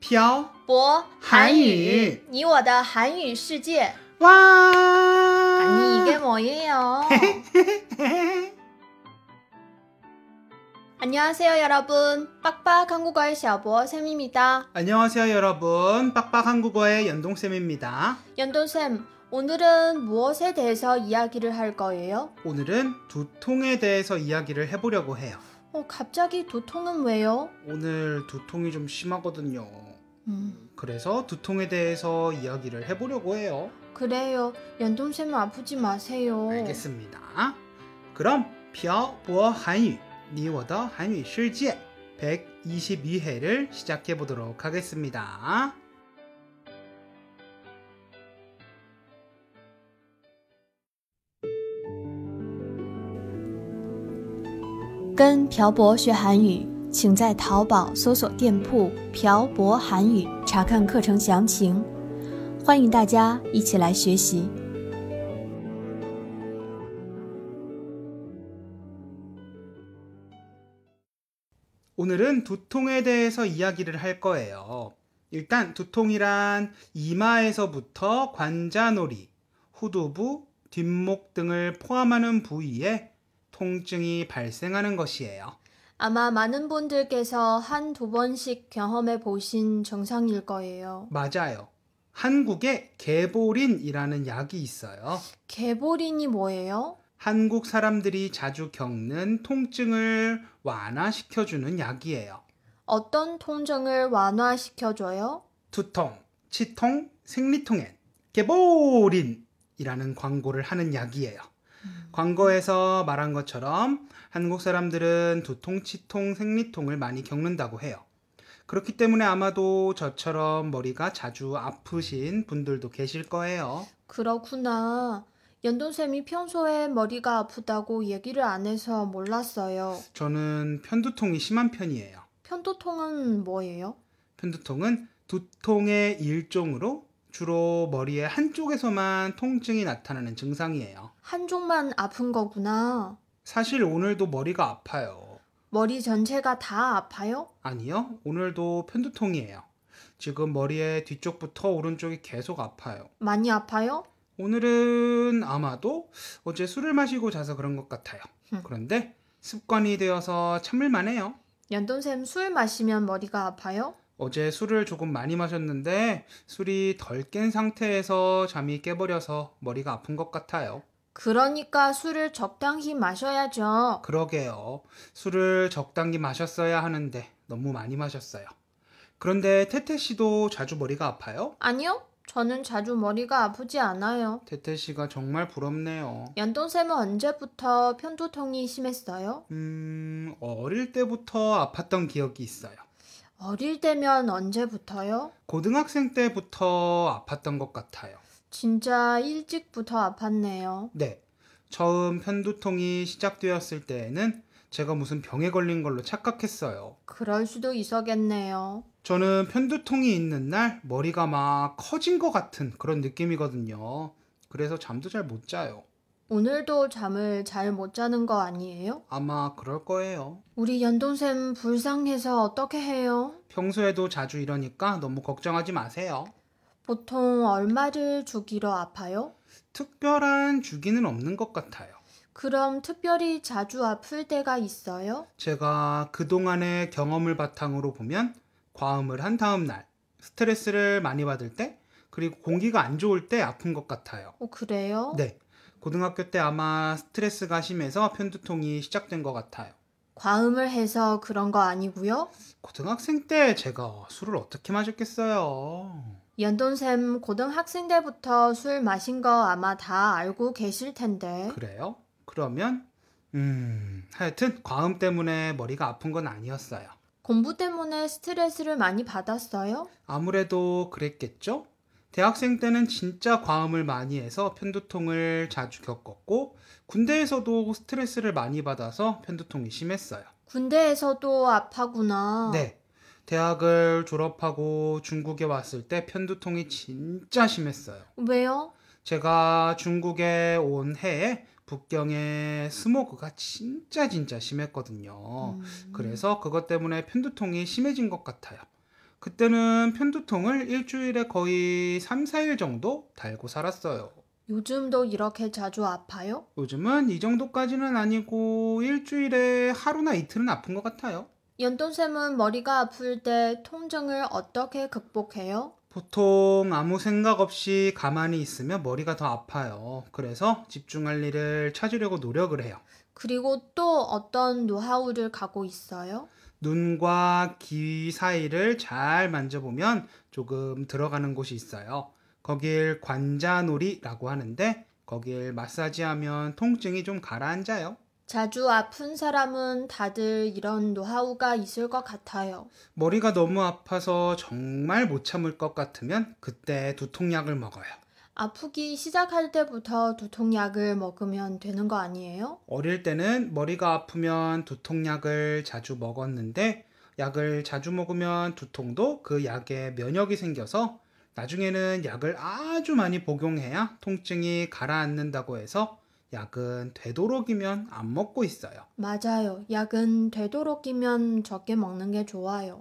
漂博韩语你我的韩语世界 와! 아니 이게 뭐예요? 안녕하세요 여러분 빡빡 한국어의 小博 쌤입니다. 안녕하세요 여러분. 빡빡 한국어의 연동쌤입니다. 연돈쌤 오늘은 무엇에 대해서 이야기를 할 거예요? 오늘은 두통에 대해서 이야기를 해보려고 해요. 갑자기 두통은 왜요? 오늘 두통이 좀 심하거든요. 그래서 두통에 대해서 이야기를 해보려고 해요. 그래요. 연돈쌤은 아프지 마세요. 알겠습니다. 그럼 漂泊韩语你我的韩语世界 122회를 시작해 보도록 하겠습니다. 跟朴博学韩语请在淘宝搜索店铺朴博韩语查看课程详情，欢迎大家一起来学习。 오늘은 두통에 대해서 이야기를 할 거예요. 일단 두통이란 이마에서부터 관자놀이, 후두부, 뒷목 등을 포함하는 부위에 통증이 발생하는 것이에요. 아마 많은 분들께서 한두 번씩 경험해 보신 증상일 거예요. 맞아요. 한국에 개보린이라는 약이 있어요. 개보린이 뭐예요? 한국 사람들이 자주 겪는 통증을 완화시켜주는 약이에요. 어떤 통증을 완화시켜줘요? 두통, 치통, 생리통엔 개보린이라는 광고를 하는 약이에요. 광고에서 말한 것처럼 한국 사람들은 두통, 치통, 생리통을 많이 겪는다고 해요. 그렇기 때문에 아마도 저처럼 머리가 자주 아프신 분들도 계실 거예요. 그렇구나. 연돈쌤이 평소에 머리가 아프다고 얘기를 안 해서 몰랐어요. 저는 편두통이 심한 편이에요. 편두통은 뭐예요? 편두통은 두통의 일종으로 주로 머리의 한쪽에서만 통증이 나타나는 증상이에요. 한쪽만 아픈 거구나. 사실 오늘도 머리가 아파요. 머리 전체가 다 아파요? 아니요, 오늘도 편두통이에요. 지금 머리의 뒤쪽부터 오른쪽이 계속 아파요. 많이 아파요? 오늘은 아마도 어제 술을 마시고 자서 그런 것 같아요. 그런데 습관이 되어서 참을만 해요. 연돈쌤 술 마시면 머리가 아파요? 어제 술을 조금 많이 마셨는데 술이 덜 깬 상태에서 잠이 깨버려서 머리가 아픈 것 같아요. 그러니까 술을 적당히 마셔야죠. 그러게요. 술을 적당히 마셨어야 하는데 너무 많이 마셨어요. 그런데 태태 씨도 자주 머리가 아파요? 아니요. 저는 자주 머리가 아프지 않아요. 태태 씨가 정말 부럽네요. 연돈쌤은 언제부터 편두통이 심했어요? 어릴 때부터 아팠던 기억이 있어요. 어릴 때면 언제부터요? 고등학생 때부터 아팠던 것 같아요. 진짜 일찍부터 아팠네요. 네. 처음 편두통이 시작되었을 때에는 제가 무슨 병에 걸린 걸로 착각했어요. 그럴 수도 있었겠네요. 저는 편두통이 있는 날 머리가 막 커진 것 같은 그런 느낌이거든요. 그래서 잠도 잘 못 자요. 오늘도 잠을 잘 못 자는 거 아니에요? 아마 그럴 거예요. 우리 연돈쌤 불쌍해서 어떻게 해요? 평소에도 자주 이러니까 너무 걱정하지 마세요. 보통 얼마를 주기로 아파요? 특별한 주기는 없는 것 같아요. 그럼 특별히 자주 아플 때가 있어요? 제가 그동안의 경험을 바탕으로 보면 과음을 한 다음 날, 스트레스를 많이 받을 때, 그리고 공기가 안 좋을 때 아픈 것 같아요. 그래요? 네. 고등학교 때 아마 스트레스가 심해서 편두통이 시작된 것 같아요. 과음을 해서 그런 거 아니고요? 고등학생 때 제가 술을 어떻게 마셨겠어요? 연돈쌤 고등학생 때부터 술 마신 거 아마 다 알고 계실 텐데. 그래요? 그러면 하여튼 과음 때문에 머리가 아픈 건 아니었어요. 공부 때문에 스트레스를 많이 받았어요? 아무래도 그랬겠죠? 대학생 때는 진짜 과음을 많이 해서 편두통을 자주 겪었고 군대에서도 스트레스를 많이 받아서 편두통이 심했어요. 군대에서도 아파구나. 네. 대학을 졸업하고 중국에 왔을 때 편두통이 진짜 심했어요. 왜요? 제가 중국에 온 해에 북경에 스모그가 진짜 심했거든요. 그래서 그것 때문에 편두통이 심해진 것 같아요. 그때는 편두통을 일주일에 거의 3, 4일 정도 달고 살았어요. 요즘도 이렇게 자주 아파요? 요즘은 이 정도까지는 아니고 일주일에 하루나 이틀은 아픈 것 같아요. 연돈쌤은 머리가 아플 때 통증을 어떻게 극복해요? 보통 아무 생각 없이 가만히 있으면 머리가 더 아파요. 그래서 집중할 일을 찾으려고 노력을 해요. 그리고 또 어떤 노하우를 갖고 있어요? 눈과 귀 사이를 잘 만져보면 조금 들어가는 곳이 있어요. 거길 관자놀이라고 하는데 거길 마사지하면 통증이 좀 가라앉아요. 자주 아픈 사람은 다들 이런 노하우가 있을 것 같아요. 머리가 너무 아파서 정말 못 참을 것 같으면 그때 두통약을 먹어요. 아프기 시작할 때부터 두통약을 먹으면 되는 거 아니에요? 어릴 때는 머리가 아프면 두통약을 자주 먹었는데 약을 자주 먹으면 두통도 그 약에 면역이 생겨서 나중에는 약을 아주 많이 복용해야 통증이 가라앉는다고 해서 약은 되도록이면 안 먹고 있어요. 맞아요. 약은 되도록이면 적게 먹는 게 좋아요.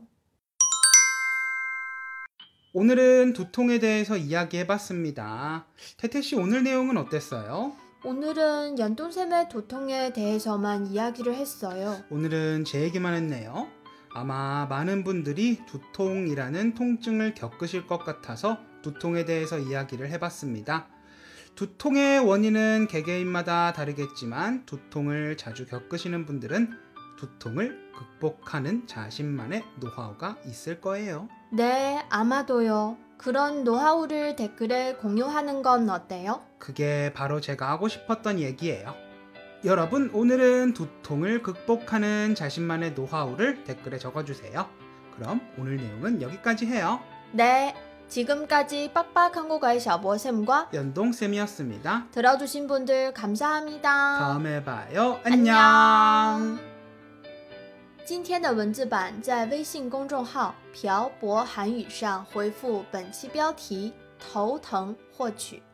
오늘은 두통에 대해서 이야기해봤습니다. 태태씨 오늘 내용은 어땠어요? 오늘은 연돈샘의 두통에 대해서만 이야기를 했어요. 오늘은 제 얘기만 했네요. 아마 많은 분들이 두통이라는 통증을 겪으실 것 같아서 두통에 대해서 이야기를 해봤습니다. 두통의 원인은 개개인마다 다르겠지만 두통을 자주 겪으시는 분들은 두통을 극복하는 자신만의 노하우가 있을 거예요. 네, 아마도요. 그런 노하우를 댓글에 공유하는 건 어때요? 그게 바로 제가 하고 싶었던 얘기예요. 여러분, 오늘은 두통을 극복하는 자신만의 노하우를 댓글에 적어주세요. 그럼 오늘 내용은 여기까지 해요. 네, 지금까지 빡빡한국어의 샤버쌤과 연동쌤이었습니다. 들어주신 분들 감사합니다. 다음에 봐요. 안녕. 今天的文字版在微信公众号“漂泊韩语”上回复本期标题“头疼”获取。